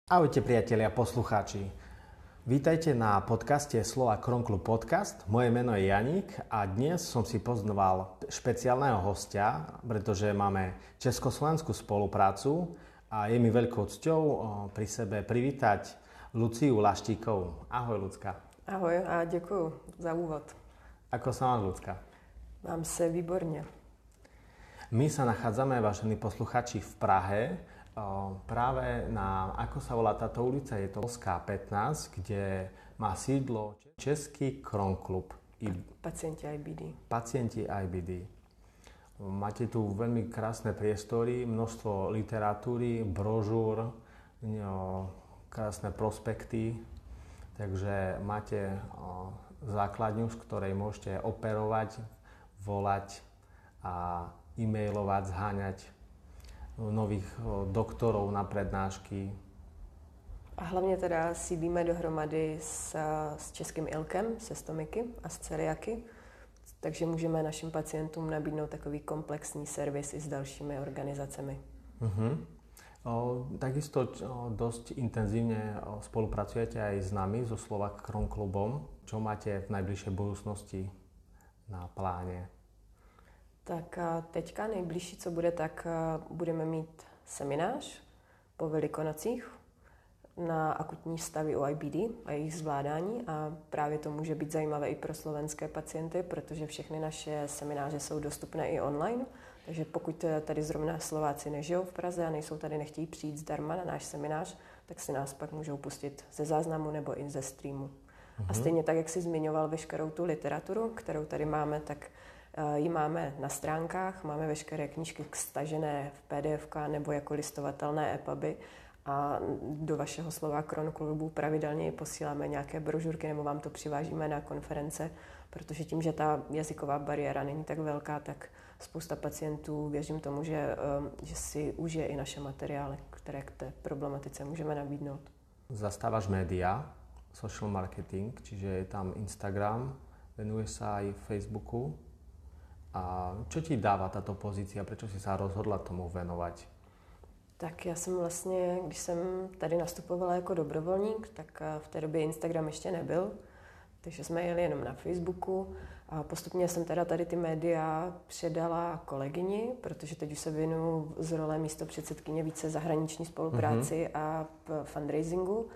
Ahojte priatelia, poslucháči. Vítajte na podcaste Slova Kronklub Podcast. Moje meno je Janík a dnes som si pozval špeciálneho hostia, pretože máme československú spoluprácu a je mi veľkou cťou pri sebe privítať Luciu Laštíkovú. Ahoj, Lucka. Ahoj a děkuju za úvod. Ako sa máš, Lucka? Mám se výborně. My sa nachádzame, vážení posluchači, v Prahe, práve na, ako sa volá táto ulica, je to Polská 15, kde má sídlo Český Kronklub. Pacienti IBD. Pacienti IBD. Máte tu veľmi krásne priestory, množstvo literatúry, brožúr, krásne prospekty, takže máte základňu, z ktorej môžete operovať, volať a e-mailovať, zháňať nových doktorov na prednášky. A hlavně teda sídlíme dohromady s Českým ILKem, se stomiky a s celiaky, takže můžeme našim pacientům nabídnout takový komplexní servis i s dalšími organizacemi. Takisto dosť intenzívne spolupracujete aj s nami, so Slova Kronklubom. Čo máte v najbližšej budúcnosti na pláne? Tak teďka nejbližší, co bude, tak budeme mít seminář po Velikonocích na akutní stavy u IBD a jejich zvládání a právě to může být zajímavé i pro slovenské pacienty, protože všechny naše semináře jsou dostupné i online, takže pokud tady zrovna Slováci nežijou v Praze a nejsou tady, nechtějí přijít zdarma na náš seminář, tak si nás pak můžou pustit ze záznamu nebo i ze streamu. A stejně tak, jak jsi zmiňoval veškerou tu literaturu, kterou tady máme, tak ji máme na stránkách, máme veškeré knížky stažené v PDF nebo jako listovatelné EPUBy a do vašeho Slova Kronklubu pravidelně posíláme nějaké brožurky nebo vám to přivážíme na konference, protože tím, že ta jazyková bariéra není tak velká, tak spousta pacientů, věřím tomu, že si užije i naše materiály, které k té problematice můžeme nabídnout. Zastávaš média, social marketing, čiže je tam Instagram, venuješ sa aj Facebooku. A čo ti dáva táto pozícia? Prečo si sa rozhodla tomu venovať? Tak já jsem vlastně, když jsem tady nastupovala jako dobrovolník, tak v té době Instagram ještě nebyl, takže jsme jeli jenom na Facebooku a postupně jsem teda tady ty média předala kolegyni, protože teď už se věnuju z role místopředsedkyně více zahraniční spolupráci a fundraisingu,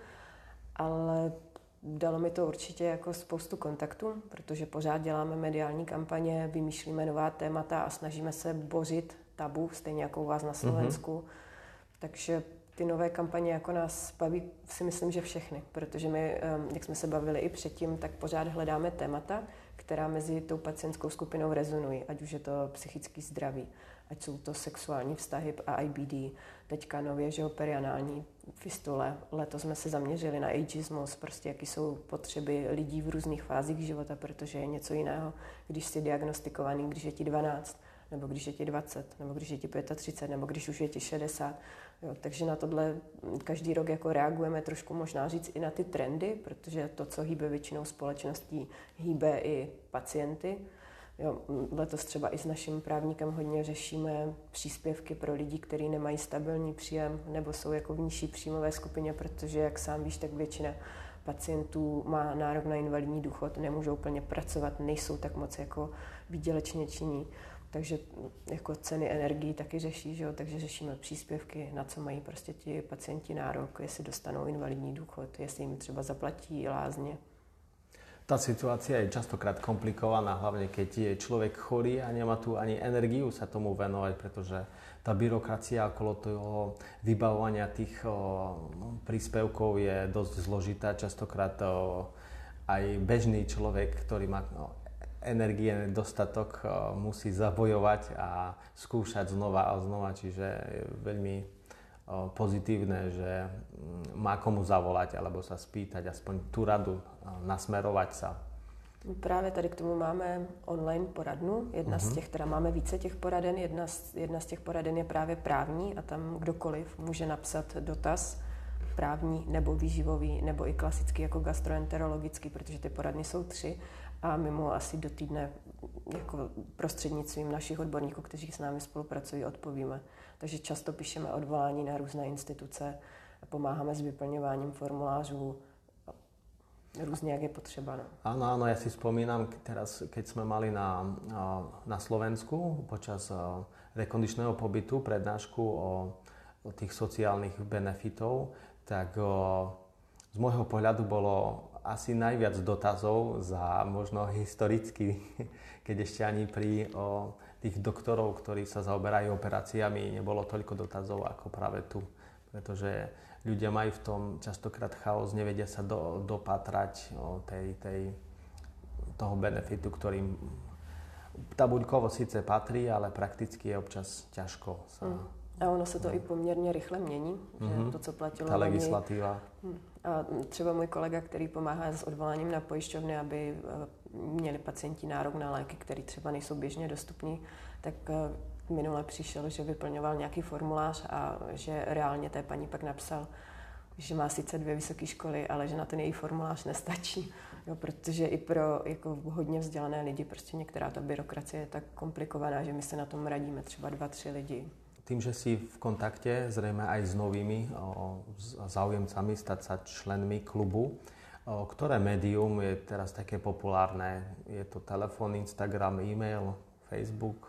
ale dalo mi to určitě jako spoustu kontaktů, protože pořád děláme mediální kampaně, vymýšlíme nová témata a snažíme se bořit tabu, stejně jako u vás na Slovensku. Takže ty nové kampaně jako nás baví, si myslím, že všechny, protože my, jak jsme se bavili i předtím, tak pořád hledáme témata, která mezi tou pacientskou skupinou rezonují, ať už je to psychický zdraví, ať jsou to sexuální vztahy a IBD, teďka nově, že perianální fistule. Letos jsme se zaměřili na ageismus, prostě jaký jsou potřeby lidí v různých fázích života, protože je něco jiného, když jsi diagnostikovaný, když je ti 12, nebo když je ti 20, nebo když je ti 35, nebo když už je ti 60. Jo, takže na tohle každý rok jako reagujeme trošku, možná říct i na ty trendy, protože to, co hýbe většinou společností, hýbe i pacienty. Jo, letos třeba i s naším právníkem hodně řešíme příspěvky pro lidi, kteří nemají stabilní příjem nebo jsou jako v nižší příjmové skupině, protože, jak sám víš, tak většina pacientů má nárok na invalidní důchod, nemůžou plně pracovat, nejsou tak moc jako výdělečně činní. Takže jako ceny energií taky řeší, že jo? Takže řešíme příspěvky, na co mají prostě ti pacienti nárok, jestli dostanou invalidní důchod, jestli jim třeba zaplatí lázně. Tá situácia je častokrát komplikovaná, hlavne keď je človek chorý a nemá tu ani energiu sa tomu venovať, pretože tá byrokracia okolo toho vybavovania tých príspevkov je dosť zložitá. Častokrát aj bežný človek, ktorý má energie dostatok, musí zabojovať a skúšať znova a znova, čiže je veľmi pozitívne, že má komu zavolať alebo sa spýtať aspoň tú radu, nasmerovať sa. Právě tady k tomu máme online poradnu. Jedna z těch, teda máme více těch poraden, jedna z těch poraden je právě právní a tam kdokoliv může napsat dotaz právní nebo výživový nebo i klasický jako gastroenterologický, protože ty poradny jsou 3 a mimo asi do týdne jako prostřednictvím našich odborníků, kteří s námi spolupracují, odpovíme. Takže často píšeme odvolání na různé instituce, pomáháme s vyplňováním formulářů různě, jak je potřeba. No. Áno, ja si spomínam teraz, keď sme mali na Slovensku počas rekondičného pobytu prednášku o tých sociálnych benefitov, tak z môjho pohľadu bolo asi najviac dotazov za možno historicky, keď ešte ani pri tých doktorov, ktorí sa zaoberajú operáciami, nebolo toľko dotazov ako práve tu. Pretože ľudia majú v tom častokrát chaos, nevedia sa dopatrať toho benefitu, ktorým tabuľkovo síce patrí, ale prakticky je občas ťažko sa... A ono se to i poměrně rychle mění, že to, co platilo ta legislativa. A třeba můj kolega, který pomáhá s odvoláním na pojišťovny, aby měli pacienti nárok na léky, které třeba nejsou běžně dostupní, tak minule přišel, že vyplňoval nějaký formulář a že reálně té paní pak napsal, že má sice 2 vysoké školy, ale že na ten její formulář nestačí. Jo, protože i pro jako hodně vzdělané lidi prostě některá ta byrokracie je tak komplikovaná, že my se na tom radíme třeba 2-3 lidi. Tým, že si v kontakte zrejme aj s novými záujemcami stať sa členmi klubu, ktoré médium je teraz také populárne? Je to telefon, Instagram, e-mail, Facebook,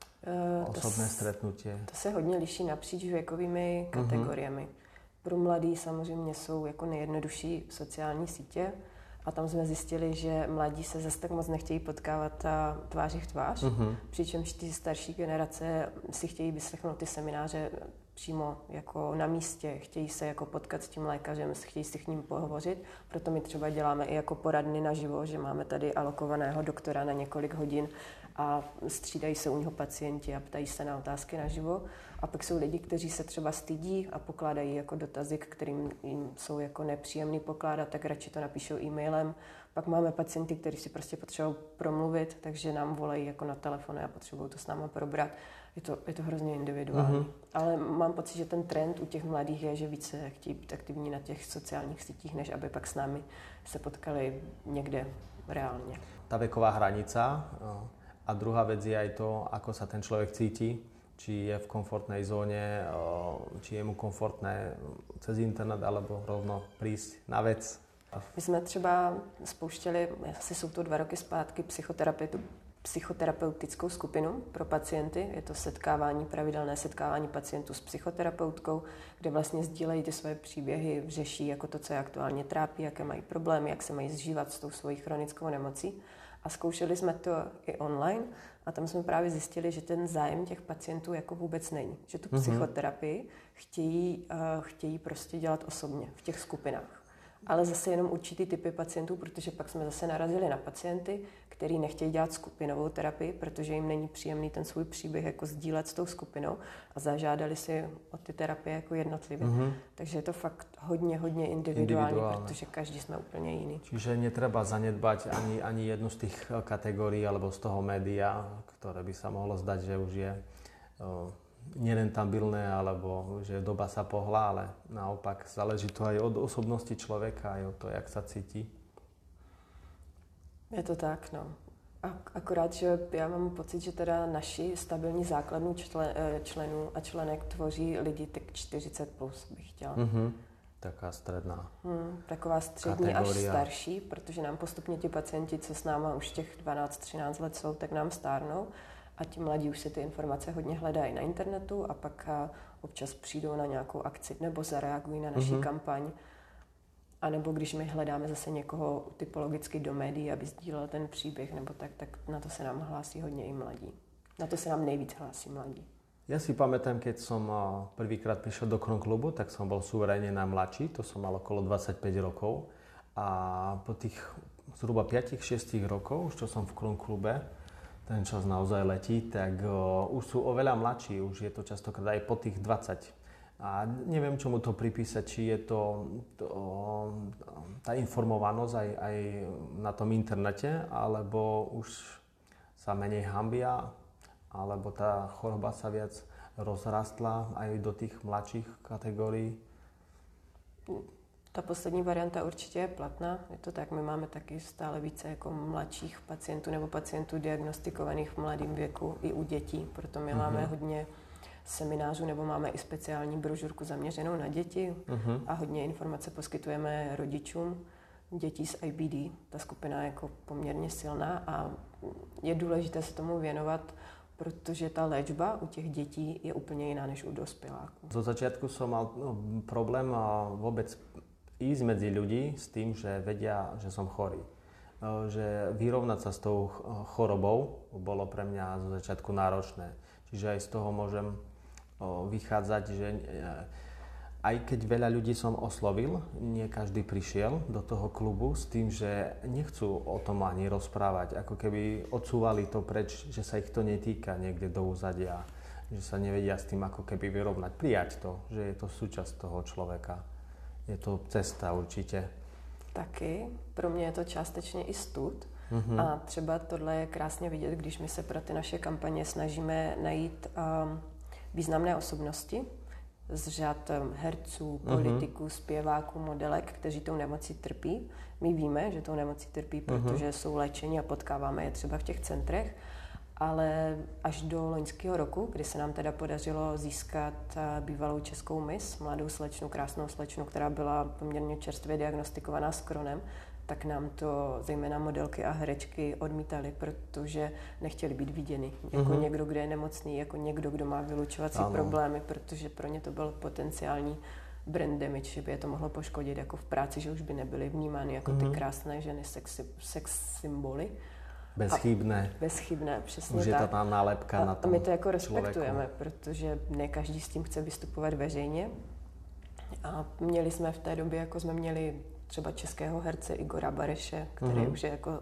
osobné stretnutie? To se hodně liší napříč věkovými kategoriemi. Pro mladí samozřejmě jsou jako nejjednodušší sociální sítě a tam jsme zjistili, že mladí se zase tak moc nechtějí potkávat tváří v tvář, přičemž ty starší generace si chtějí vyslechnout ty semináře přímo jako na místě, chtějí se jako potkat s tím lékařem, chtějí si k ním pohovořit, proto my třeba děláme i jako poradny naživo, že máme tady alokovaného doktora na několik hodin a střídají se u něho pacienti a ptají se na otázky naživo. A pak jsou lidi, kteří se třeba stydí a pokládají jako dotazy, kterým jim jsou jako nepříjemný pokládat, tak radši to napíšou e-mailem. Pak máme pacienty, kteří si prostě potřebují promluvit, takže nám volají jako na telefon a potřebují to s náma probrat. Je to hrozně individuální. Ale mám pocit, že ten trend u těch mladých je, že více chtějí být aktivní na těch sociálních sítích, než aby pak s námi se potkali někde reálně. Tá veková hranica a druhá vec je aj to, ako sa ten človek cíti, či je v komfortnej zóne, či je mu komfortné cez internet, alebo rovno prísť na vec. My jsme třeba spouštěli, asi jsou to 2 roky zpátky, psychoterapeutickou skupinu pro pacienty. Je to pravidelné setkávání pacientů s psychoterapeutkou, kde vlastně sdílejí ty svoje příběhy, řeší jako to, co je aktuálně trápí, jaké mají problémy, jak se mají zžívat s tou svojí chronickou nemocí. A zkoušeli jsme to i online a tam jsme právě zjistili, že ten zájem těch pacientů jako vůbec není. Že tu psychoterapii chtějí prostě dělat osobně v těch skupinách. Ale zase jenom určitý typy pacientů, protože pak jsme zase narazili na pacienty, kteří nechtějí dělat skupinovou terapii, protože jim není příjemný ten svůj příběh jako sdílet s tou skupinou a zažádali si o ty terapie jako jednotlivě. Takže je to fakt hodně individuální, protože každý jsme úplně jiný. Čiže netreba zanedbať ani jednu z tých kategórií alebo z toho média, ktoré by sa mohlo zdať, že už je nerentabilné, alebo že doba sa pohla, ale naopak záleží to aj od osobnosti človeka, aj od toho, jak sa cíti. Je to tak, no. Akorát, že já mám pocit, že teda naši stabilní základnu členů a členek tvoří lidi tak 40+, bych chtěla. Taká stredná. Taková střední kategoria. Až starší, protože nám postupně ti pacienti, co s náma už těch 12-13 let jsou, tak nám stárnou. A ti mladí už si ty informace hodně hledají na internetu a pak občas přijdou na nějakou akci nebo zareagují na naši kampaň. A nebo když my hledáme zase někoho typologicky do médií, aby sdílel ten příběh, nebo tak na to se nám hlásí hodně i mladí. Na to se nám nejvíc hlásí mladí. Ja si pamätám, keď som prvýkrát prišiel do Kron klubu, tak som bol suverénne najmladší, to som mal okolo 25 rokov. A po tých zhruba 5-6 rokov, čo som v Kron klube, ten čas naozaj letí, tak už sú oveľa mladší, už je to častokrát aj po tých 20. A neviem, čomu to pripísať, či je to tá informovanosť aj na tom internete, alebo už sa menej hanbia, alebo tá choroba sa viac rozrastla aj do tých mladších kategórií? Ta poslední varianta určitě je platná. Je to tak, my máme taky stále více jako mladších pacientů nebo pacientů diagnostikovaných v mladém věku i u dětí. Proto my máme hodně seminářů, nebo máme i speciální brožurku zaměřenou na děti a hodně informace poskytujeme rodičům dětí s IBD. Ta skupina je jako poměrně silná a je důležité se tomu věnovat, protože ta léčba u těch dětí je úplně jiná než u dospěláků. Zo začiatku som mal problém vôbec ísť medzi ľudí s tým, že vedia, že som chorý. Že vyrovnať sa s tou chorobou bolo pre mňa zo začiatku náročné. Čiže aj z toho môžem vychádzať, že aj keď veľa ľudí som oslovil, nie každý prišiel do toho klubu s tým, že nechcú o tom ani rozprávať. Ako keby odsúvali to preč, že sa ich to netýka niekde do úzadia. Že sa nevedia s tým ako keby vyrovnať. Prijať to, že je to súčasť toho človeka. Je to cesta určitě. Taky. Pro mě je to částečně i stud. A třeba tohle je krásně vidět, když my se pro ty naše kampaně snažíme najít významné osobnosti z řad herců, politiků, zpěváků, modelek, kteří tou nemocí trpí. My víme, že tou nemocí trpí, protože jsou léčeni a potkáváme je třeba v těch centrech. Ale až do loňského roku, kdy se nám teda podařilo získat bývalou českou miss, mladou slečnu, krásnou slečnu, která byla poměrně čerstvě diagnostikovaná s Crohnem, tak nám to zejména modelky a herečky odmítali, protože nechtěli být viděni jako někdo, kdo je nemocný, jako někdo, kdo má vylučovací problémy, protože pro ně to byl potenciální brand damage, že by je to mohlo poškodit jako v práci, že už by nebyly vnímány jako ty krásné ženy, sex symboly. Bezchybné, přesně už tak. Je to ta nálepka na tom. A my to jako respektujeme, protože ne každý s tím chce vystupovat veřejně. A měli jsme v té době, jako jsme měli třeba českého herce Igora Bareše, který už je jako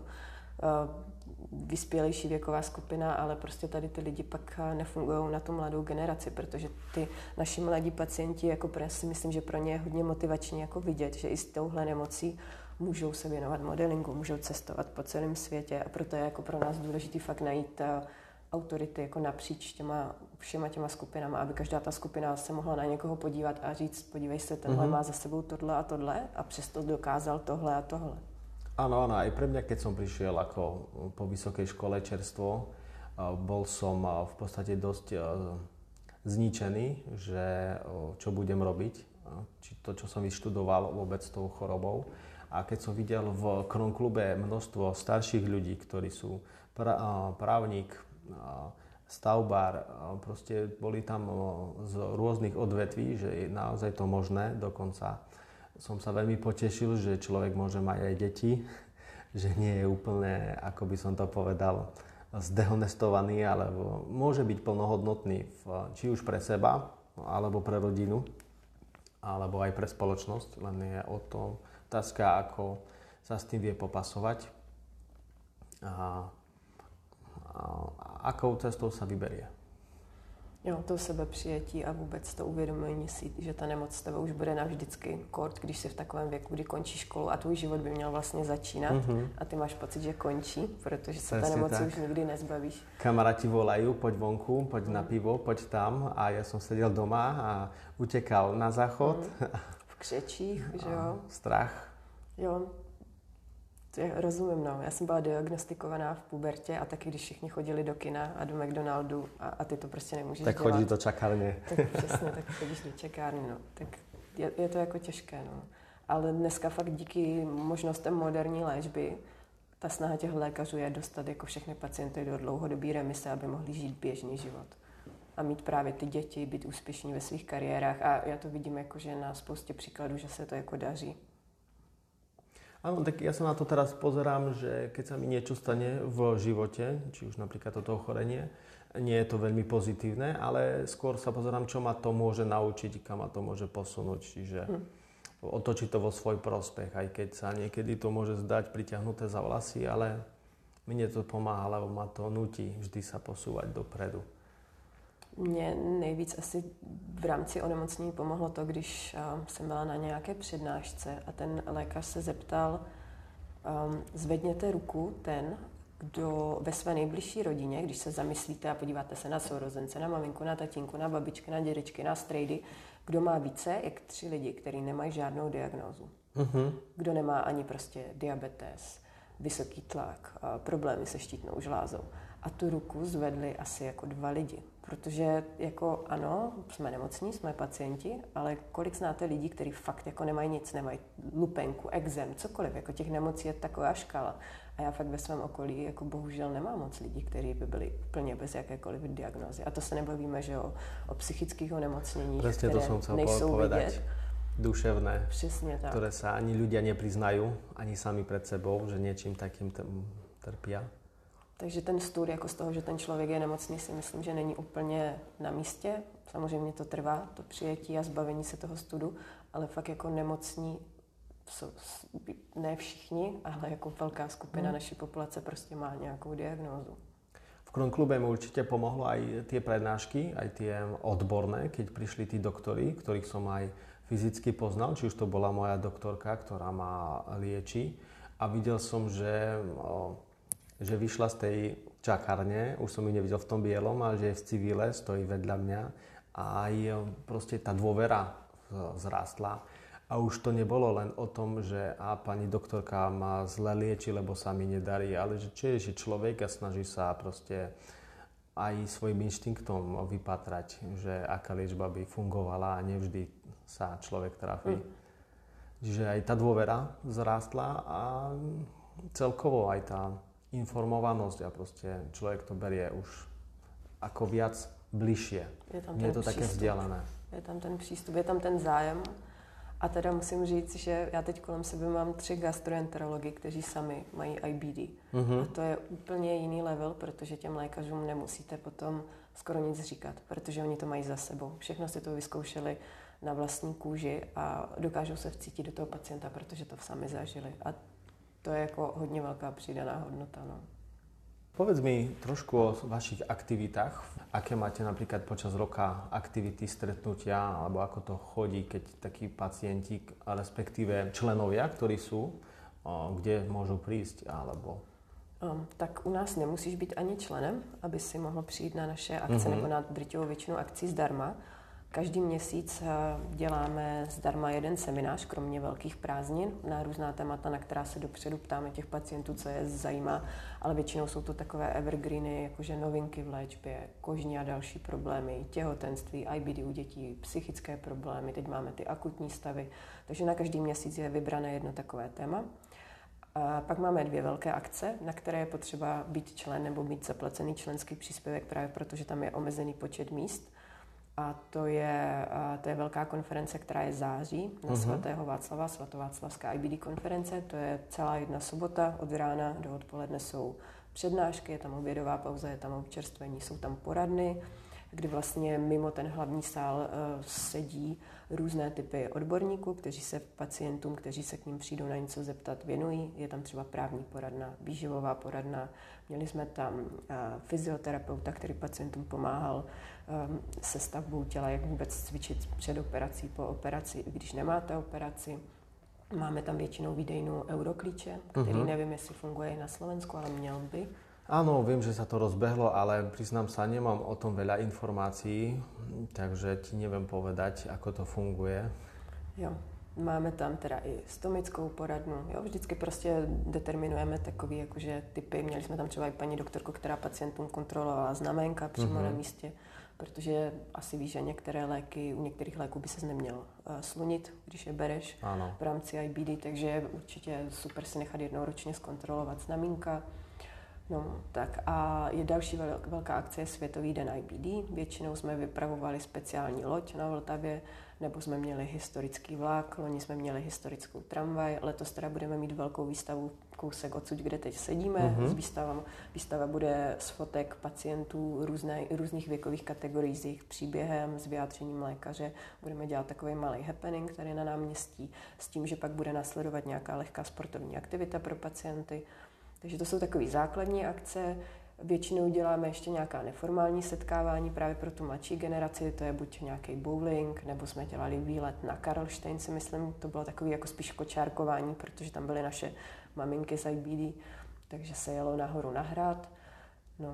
vyspělejší věková skupina, ale prostě tady ty lidi pak nefungují na tu mladou generaci, protože ty naši mladí pacienti, jako si myslím, že pro ně je hodně motivační jako vidět, že i s touhle nemocí můžou se věnovat modelingu, můžou cestovat po celém světě a proto je jako pro nás důležitý fakt najít autority jako napříč všema těma skupinama, aby každá ta skupina se mohla na někoho podívat a říct, podívej se, tenhle má za sebou tohle a přesto dokázal tohle a tohle. Áno, aj pre mňa, keď som prišiel ako po vysokej škole čerstvo, bol som v podstate dosť zničený, že čo budem robiť, či to, čo som vyštudoval vôbec s tou chorobou. A keď som videl v Crohn klube množstvo starších ľudí, ktorí sú právnik, stavbár, proste boli tam z rôznych odvetví, že je naozaj to možné. Dokonca som sa veľmi potešil, že človek môže mať aj deti, že nie je úplne, ako by som to povedal, zdehonestovaný, alebo môže byť plnohodnotný či už pre seba, alebo pre rodinu, alebo aj pre spoločnosť, len je o tom otázka, ako sa s tým vie popasovať a akou cestou sa vyberie. Jo, to sebepřijetí a vůbec to uvědomění si, že ta nemoc s tebou už bude navždycky kort, když jsi v takovém věku, kdy končí školu a tvůj život by měl vlastně začínat a ty máš pocit, že končí, protože se ta nemoci už nikdy nezbavíš. Kamaráti volajú, poď vonku, poď na pivo, poď tam a ja som sedel doma a utekal na záchod. V křečích, že jo. Strach. Jo. Rozumím, no. Já jsem byla diagnostikovaná v pubertě a taky, když všichni chodili do kina a do McDonaldu a ty to prostě nemůžeš tak dělat. Tak chodíš do čakárny. Tak přesně, tak chodíš do čakárny, no. Tak je to jako těžké, no. Ale dneska fakt díky možnostem moderní léčby ta snaha těch lékařů je dostat jako všechny pacienty do dlouhodobé remise, aby mohli žít běžný život. A mít právě ty děti, být úspěšní ve svých kariérách a já to vidím jako, že na spoustě příkladů, že se to jako daří. Áno, tak ja sa na to teraz pozerám, že keď sa mi niečo stane v živote, či už napríklad toto ochorenie, nie je to veľmi pozitívne, ale skôr sa pozerám, čo ma to môže naučiť, kam ma to môže posunúť, čiže otočiť to vo svoj prospech, aj keď sa niekedy to môže zdať pritiahnuté za vlasy, ale mne to pomáha, lebo ma to nutí vždy sa posúvať dopredu. Mně nejvíc asi v rámci onemocnění pomohlo to, když jsem byla na nějaké přednášce a ten lékař se zeptal, zvedněte ruku ten, kdo ve své nejbližší rodině, když se zamyslíte a podíváte se na sourozence, na maminku, na tatínku, na babičky, na dědečky, na strejdy, kdo má více, jak 3 lidi, kteří nemají žádnou diagnózu. Kdo nemá ani prostě diabetes, vysoký tlak, problémy se štítnou žlázou. a tu ruku zvedli asi jako 2 lidi. Protože jako ano, jsme nemocní, jsme pacienti, ale kolik znáte lidí, kteří fakt jako nemají nic, nemají lupenku, exém, cokoliv, jako těch nemocí je taková škála. A já fakt ve svém okolí jako bohužel nemám moc lidí, kteří by byli úplně bez jakékoliv diagnózy. A to se nebavíme, že o psychických onemocněních, Presne které to som chcel nejsou povedať. vidět. Duševné, Přesně tak. ktoré sa ani ľudia nepriznajú, ani sami pred sebou, že niečím takým trpia. Takže ten stud jako z toho, že ten člověk je nemocný, si myslím, že není úplně na místě. Samozřejmě to trvá, to přijetí a zbavení se toho studu, ale fakt jako nemocní jsou ne všichni, ale jako velká skupina naší populace prostě má nějakou diagnózu. V Kron klube mi určite pomohlo aj tie prednášky, aj tie odborné, keď prišli tí doktori, ktorých som aj fyzicky poznal, či už to bola moja doktorka, ktorá ma lieči. A videl som, že vyšla z tej čakárne, už som ju nevidel v tom bielom, ale že je v civile, stojí vedľa mňa a aj proste tá dôvera vzrástla. A už to nebolo len o tom, že pani doktorka ma zle lieči, lebo sa mi nedarí, ale že čo je, že človek a snaží sa proste aj svojim inštinktom vypatrať, že aká liečba by fungovala a nevždy sa človek trafí. Čiže aj tá dôvera vzrástla a celkovo aj tá informovanosť a proste človek to berie už ako viac bližšie. Nie je to také vzdialené. Je tam ten přístup, je tam ten zájem. A teda musím říct, že já teď kolem sebe mám 3 gastroenterology, kteří sami mají IBD. A to je úplně jiný level, protože těm lékařům nemusíte potom skoro nic říkat, protože oni to mají za sebou. Všechno si to vyzkoušeli na vlastní kůži a dokážou se vcítit do toho pacienta, protože to sami zažili. A to je jako hodně velká přidaná hodnota. No. Povedz mi trošku o vašich aktivitách. Aké máte napríklad počas roka aktivity, stretnutia, alebo ako to chodí, keď takí pacienti, respektíve členovia, ktorí sú, kde môžu prísť, alebo... Tak u nás nemusíš být ani členem, aby si mohl přijít na naše akce nebo na drtivou většinu akcí zdarma. Každý měsíc děláme zdarma jeden seminář, kromě velkých prázdnin, na různá témata, na která se dopředu ptáme těch pacientů, co je zajímá, ale většinou jsou to takové evergreeny, jakože novinky v léčbě, kožní a další problémy, těhotenství, IBD u dětí, psychické problémy, teď máme ty akutní stavy, takže na každý měsíc je vybrané jedno takové téma. A pak máme 2 velké akce, na které je potřeba být člen nebo mít zaplacený členský příspěvek právě protože tam je omezený počet míst. A to je velká konference, která je září na svatého Václava, svatováclavská IBD konference. To je celá jedna sobota, od rána do odpoledne jsou přednášky, je tam obědová pauza, je tam občerstvení, jsou tam poradny, kdy vlastně mimo ten hlavní sál sedí různé typy odborníků, kteří se pacientům, kteří se k ním přijdou na něco zeptat, věnují. Je tam třeba právní poradna, výživová poradna. Měli jsme tam fyzioterapeuta, který pacientům pomáhal se stavbou těla, jak vůbec cvičit před operací, po operaci, i když nemáte operaci. Máme tam většinou výdejnu Euroklíče, který nevím, jestli funguje i na Slovensku, ale měl by. Áno, viem, že sa to rozbehlo, ale priznám sa, nemám o tom veľa informácií, takže ti neviem povedať, ako to funguje. Jo, máme tam teda i stomickou poradnu, jo, vždycky prostě determinujeme takový jakože typy. Měli jsme tam třeba i paní doktorku, která pacientům kontrolovala znaménka přímo na místě, protože asi víš, že některé léky, u některých léků by ses neměl slunit, když je bereš v rámci IBD, takže je určitě super si nechat jednou ročně zkontrolovat znamínka. No, tak a je další velká akce, je Světový den IBD. Většinou jsme vypravovali speciální loď na Vltavě, nebo jsme měli historický vlak, loni jsme měli historickou tramvaj, letos teda budeme mít velkou výstavu kousek odsud, kde teď sedíme. Výstava bude z fotek pacientů různých věkových kategorií s jejich příběhem, s vyjádřením lékaře. Budeme dělat takový malý happening tady na náměstí s tím, že pak bude následovat nějaká lehká sportovní aktivita pro pacienty. Takže to jsou takové základní akce. Většinou děláme ještě nějaká neformální setkávání právě pro tu mladší generaci, to je buď nějaký bowling, nebo jsme dělali výlet na Karlštejn, si myslím, to bylo takový jako spíš kočárkování, protože tam byly naše maminky z IBD, takže se jelo nahoru na hrad. No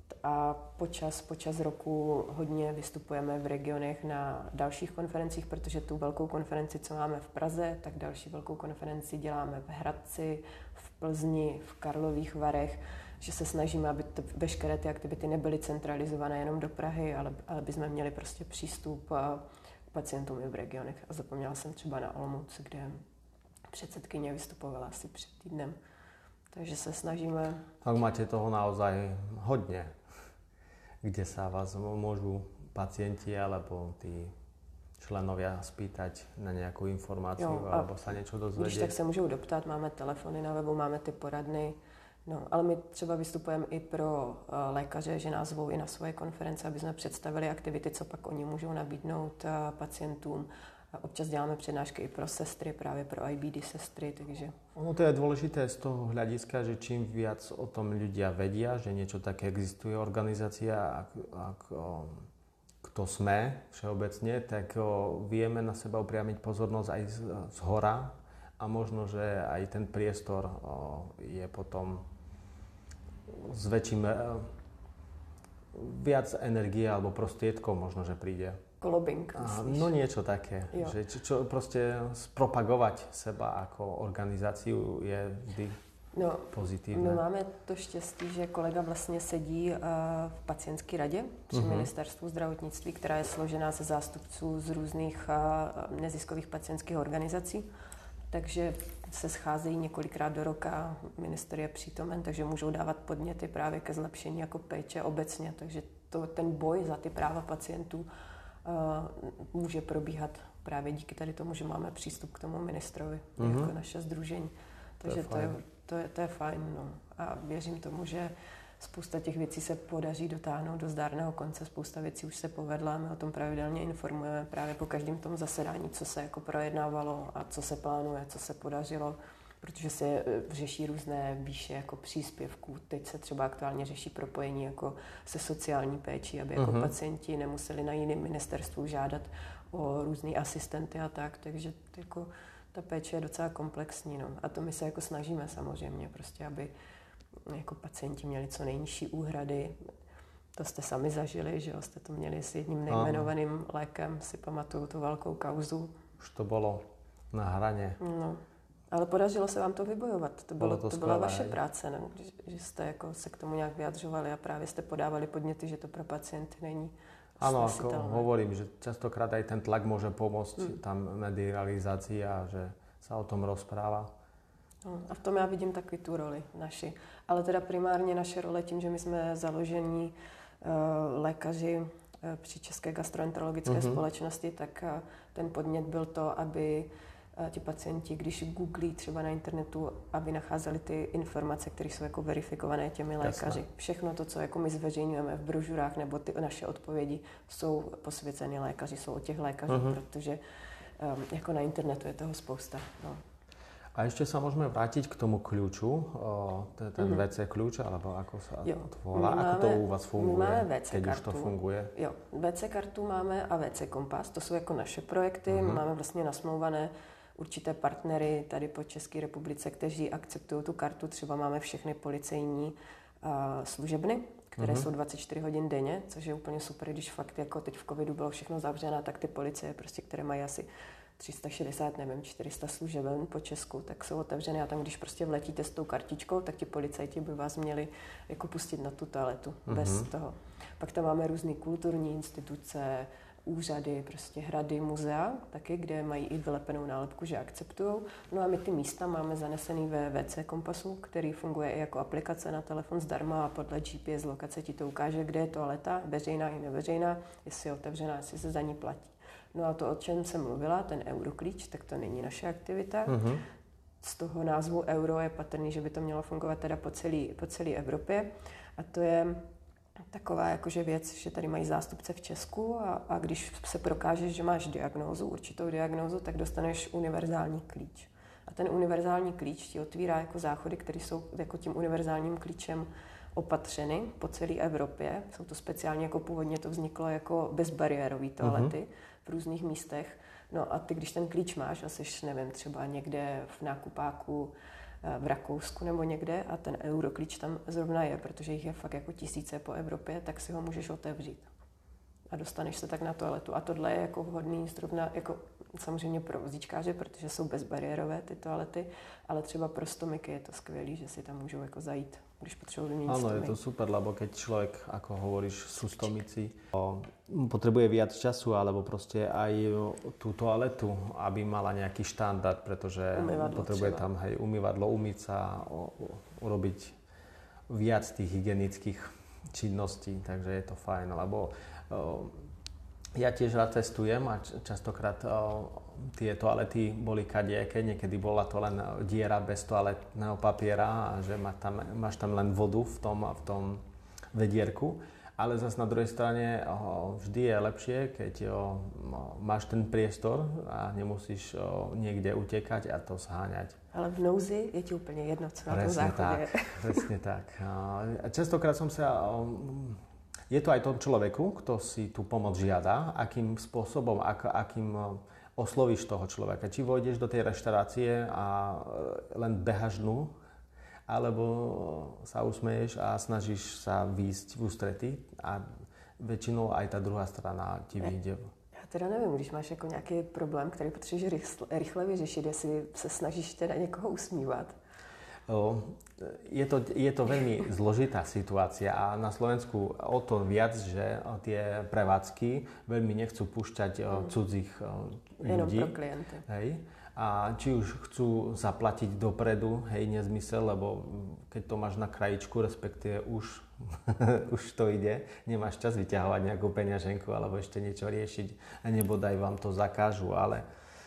A počas roku hodně vystupujeme v regionech na dalších konferencích, protože tu velkou konferenci, co máme v Praze, tak další velkou konferenci děláme v Hradci, v Plzni, v Karlových Varech, že se snažíme, aby veškeré ty aktivity nebyly centralizované jenom do Prahy, ale aby jsme měli prostě přístup k pacientům i v regionech. A zapomněla jsem třeba na Olomouc, kde předsedkyně vystupovala asi před týdnem. Takže se snažíme... Tak máte toho naozaj hodně, kde sa vás môžu pacienti alebo tí členovia spýtať na nejakú informáciu alebo sa niečo dozvedieť. Když tak se můžou doptat, máme telefony na webu, máme ty poradny. No, ale my třeba vystupujeme i pro lékaře, že nás zvou i na svoje konference, aby jsme představili aktivity, co pak oni můžou nabídnout pacientům. A občas děláme přednášky i pro sestry, právě pro IBD sestry, takže... No to je dôležité z toho hľadiska, že čím viac o tom ľudia vedia, že niečo také existuje, organizácia, kto sme všeobecne, tak vieme na seba upriamiť pozornosť aj z hora a možno, že aj ten priestor je potom s väčším viac energie alebo prostriedkov možno, že príde. Lobbying, myslíš? No niečo také, jo. Že čo proste spropagovať seba ako organizáciu je vždy pozitívne. My máme to štěstí, že kolega vlastně sedí v pacientské radě při ministerstvu zdravotnictví, která je složená ze zástupců z různých neziskových pacientských organizací. Takže se scházejí několikrát do roka, minister je přítomen, takže můžou dávat podněty právě ke zlepšení jako péče obecně. Takže ten boj za ty práva pacientů může probíhat právě díky tady tomu, že máme přístup k tomu ministrovi, jako naše sdružení. Takže to je fajn. No. A věřím tomu, že spousta těch věcí se podaří dotáhnout do zdárného konce, spousta věcí už se povedla, my o tom pravidelně informujeme právě po každém tom zasedání, co se jako projednávalo a co se plánuje, co se podařilo, protože se řeší různé výše jako příspěvků. Teď se třeba aktuálně řeší propojení jako se sociální péčí, aby jako pacienti nemuseli na jiném ministerstvu žádat o různý asistenty a tak, takže jako ta péče je docela komplexní. No. A to my se jako snažíme samozřejmě, prostě, aby jako pacienti měli co nejnižší úhrady. To jste sami zažili, že jo? Jste to měli s jedním nejmenovaným lékem, si pamatuju tu velkou kauzu. Už to bylo na hraně. No. Ale podařilo se vám to vybojovat. To byla vaše práce, ne? Že jste jako se k tomu nějak vyjadřovali a právě jste podávali podněty, že to pro pacienty není. Áno, ako hovorím, že častokrát aj ten tlak môže pomôcť tam medializácii a že sa o tom rozpráva. No, a v tom já vidím taky tu roli naši. Ale teda primárně naše role tím, že my jsme založení lékaři při České gastroenterologické společnosti, tak ten podnět byl to, aby ti pacienti, když googlí třeba na internetu, aby nacházeli ty informace, které jsou jako verifikované těmi lékaři. Jasne. Všechno to, co jako my zveřejňujeme v brožurách, nebo ty naše odpovědi jsou posvěceny lékaři, jsou od těch lékařů, protože jako na internetu je toho spousta. No. A ešte sa môžeme vrátiť k tomu kľúču, ten WC kľúč, alebo ako sa to volá, ako to u vás funguje, keď už to funguje? Jo, WC kartu máme a WC kompas, to jsou jako naše projekty, máme vlastně nasmlouvané určité partnery tady po České republice, kteří akceptují tu kartu, třeba máme všechny policejní služebny, které jsou 24 hodin denně, což je úplně super, když fakt jako teď v covidu bylo všechno zavřené, tak ty policie, prostě, které mají asi 360, nevím, 400 služeben po Česku, tak jsou otevřené a tam, když prostě vletíte s tou kartičkou, tak ti policajti by vás měli jako pustit na tu toaletu bez toho. Pak tam máme různé kulturní instituce, úřady, prostě hrady, muzea, taky, kde mají i vylepenou nálepku, že akceptujou. No a my ty místa máme zanesený ve WC Kompasu, který funguje i jako aplikace na telefon zdarma a podle GPS lokace ti to ukáže, kde je toaleta, veřejná i neveřejná, jestli je otevřená, jestli se za ní platí. No a to, o čem jsem mluvila, ten euroklíč, tak to není naše aktivita. Z toho názvu euro je patrný, že by to mělo fungovat teda po celé Evropě. A to je taková jakože věc, že tady mají zástupce v Česku a když se prokážeš, že máš diagnózu, určitou diagnózu, tak dostaneš univerzální klíč. A ten univerzální klíč ti otvírá jako záchody, které jsou jako tím univerzálním klíčem opatřeny po celé Evropě. Jsou to speciálně, jako původně to vzniklo jako bezbariérové toalety v různých místech. No a ty, když ten klíč máš a jsi, nevím, třeba někde v nákupáku v Rakousku nebo někde a ten Euroklíč tam zrovna je, protože jich je fakt jako tisíce po Evropě, tak si ho můžeš otevřít. A dostaneš se tak na toaletu. A tohle je jako vhodný zrovna jako samozřejmě pro vozíčkáře, protože jsou bezbariérové ty toalety, ale třeba pro stomiky je to skvělý, že si tam můžou jako zajít, když potřebují vyměnit Áno, stomik. je to super, lebo keď človek, ako hovoríš, sú stomici, potrebuje viac času, alebo proste aj tú toaletu, aby mala nejaký štandard, pretože potrebuje tam umývadlo, umyť sa, urobiť viac tých hygienických činností, takže je to fajn, lebo ja tiež rád cestujem a častokrát tie toalety boli kadiaké, niekedy bola to len diera bez toaletného papiera a že máš tam len vodu v tom vedierku, ale zase na druhej strane vždy je lepšie, keď máš ten priestor a nemusíš niekde utekať a to zháňať. Ale v nouzi je ti úplně jedno, co na tom záchodě. Presne tak. Častokrát som sa... Je to aj tom človeku, kto si tú pomoc žiada, akým spôsobom, akým oslovíš toho človeka. Či vojdeš do tej reštaurácie a len behaš dnu, alebo sa usmeješ a snažíš sa výjsť v ústrety a väčšinou aj tá druhá strana ti vyjde. Já teda nevím, když máš jako nějaký problém, který potřebuješ rychle vyřešit, jestli se snažíš teda někoho usmívat. Je to veľmi zložitá situácia a na Slovensku o to viac, že tie prevádzky veľmi nechcú púšťať cudzích ľudí. Jenom pro klienty. Hej. A či už chcú zaplatiť dopredu, hej, nezmysel, lebo keď to máš na krajičku, respektíve už to ide, nemáš čas vyťahovať nejakú peňaženku alebo ešte niečo riešiť a nebodaj vám to zakážu, ale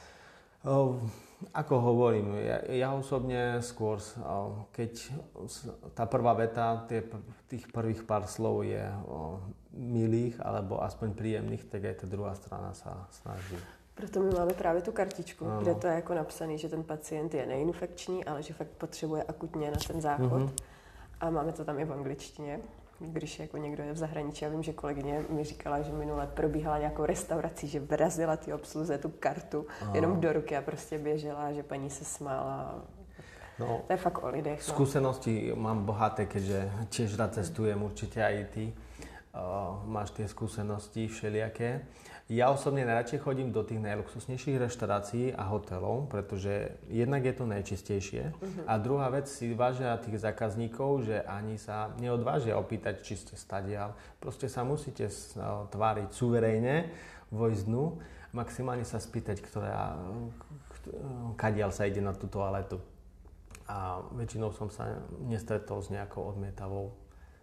ako hovorím, ja osobne skôr, keď tá prvá veta, tých prvých pár slov je milých alebo aspoň príjemných, tak aj tá druhá strana sa snaží. Proto my máme právě tu kartičku, kde to je jako napsaný, že ten pacient je neinfekční, ale že fakt potřebuje akutně na ten záchod. A máme to tam i v angličtině, když jako někdo je v zahraničí. Já vím, že kolegyně mi říkala, že minule probíhala nějakou restaurací, že vrazila ty obsluze tu kartu jenom do ruky a prostě běžela, že paní se smála. No, to je fakt o lidech. Skúsenosti mám bohaté, keďže tiež rád cestujem, určite aj ty. Máš tie skúsenosti všelijaké. Ja osobne najradšej chodím do tých najluxusnejších reštaurácií a hotelov, pretože jednak je to najčistejšie a druhá vec si vážia tých zákazníkov, že ani sa neodvážia opýtať, či ste stadiaľ. Proste sa musíte tváriť suverejne, vojsť dnu, maximálne sa spýtať, kadiaľ sa ide na tú toaletu. A väčšinou som sa nestretol s nejakou odmietavou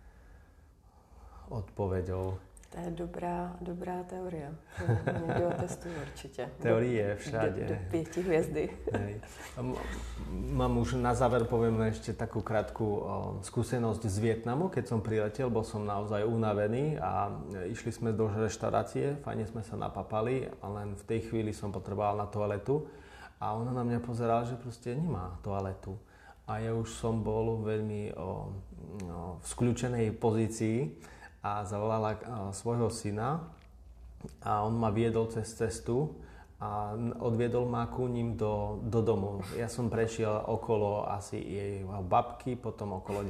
odpoveďou. To je dobrá teorie. Někdy otestuju určitě. Teorie všade. Do 5 hviezdy. Mám už na záver poviem ešte takú krátku skúsenosť z Vietnamu. Keď som priletel, bol som naozaj unavený a išli sme do reštaurácie, fajne sme sa napapali a len v tej chvíli som potreboval na toaletu a ona na mňa pozerala, že proste nemá toaletu. A ja už som bol veľmi v skľúčenej pozícii a zavolala svojho syna a on ma viedol cez cestu a odviedol ma ku ním do domu. Ja som prešiel okolo asi jej babky, potom okolo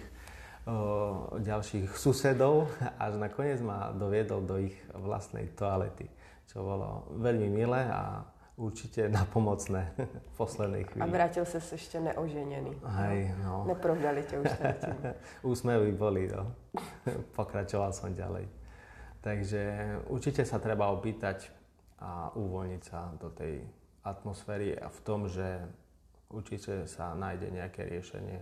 ďalších susedov až nakoniec ma doviedol do ich vlastnej toalety, čo bolo veľmi milé a určite napomocné v poslednej chvíli. A vrátil sa ešte neoženený. Hej, no. Neprovdali ťa už tým. Úsmevy boli, no. Pokračoval som ďalej. Takže určite sa treba opýtať a uvoľniť sa do tej atmosféry a v tom, že určite sa nájde nejaké riešenie.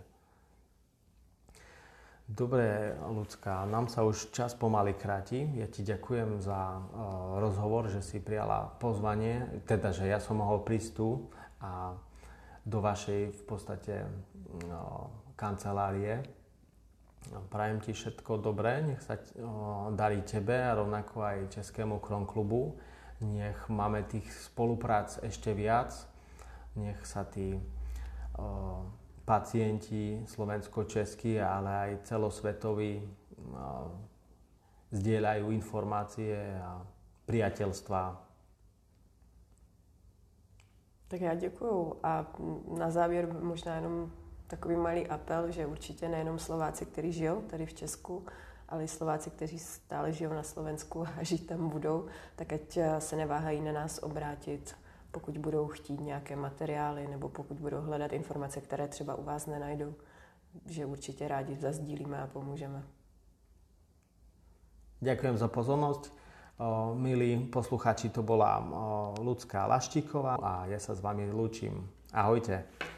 Dobre, Ľudská, nám sa už čas pomaly kráti. Ja ti ďakujem za rozhovor, že si prijala pozvanie, teda, že ja som mohol prísť tu a do vašej v podstate kancelárie. Prajem ti všetko dobré, nech sa darí tebe a rovnako aj Českému Kronklubu. Nech máme tých spoluprác ešte viac, nech sa tí pacienti slovensko-českí, ale aj celosvetoví zdieľajú informácie a priateľstvá. Tak já děkuju a na závěr možná jenom takový malý apel, že určitě nejenom Slováci, kteří žijou tady v Česku, ale i Slováci, kteří stále žijou na Slovensku a žít tam budou, tak ať se neváhají na nás obrátit, pokud budou chtít nějaké materiály nebo pokud budou hledat informace, které třeba u vás nenajdou, že určitě rádi zazdílíme a pomůžeme. Ďakujem za pozornosť. Milí poslucháči, to bola Ľudská Laštíková a ja sa s vami lúčim. Ahojte.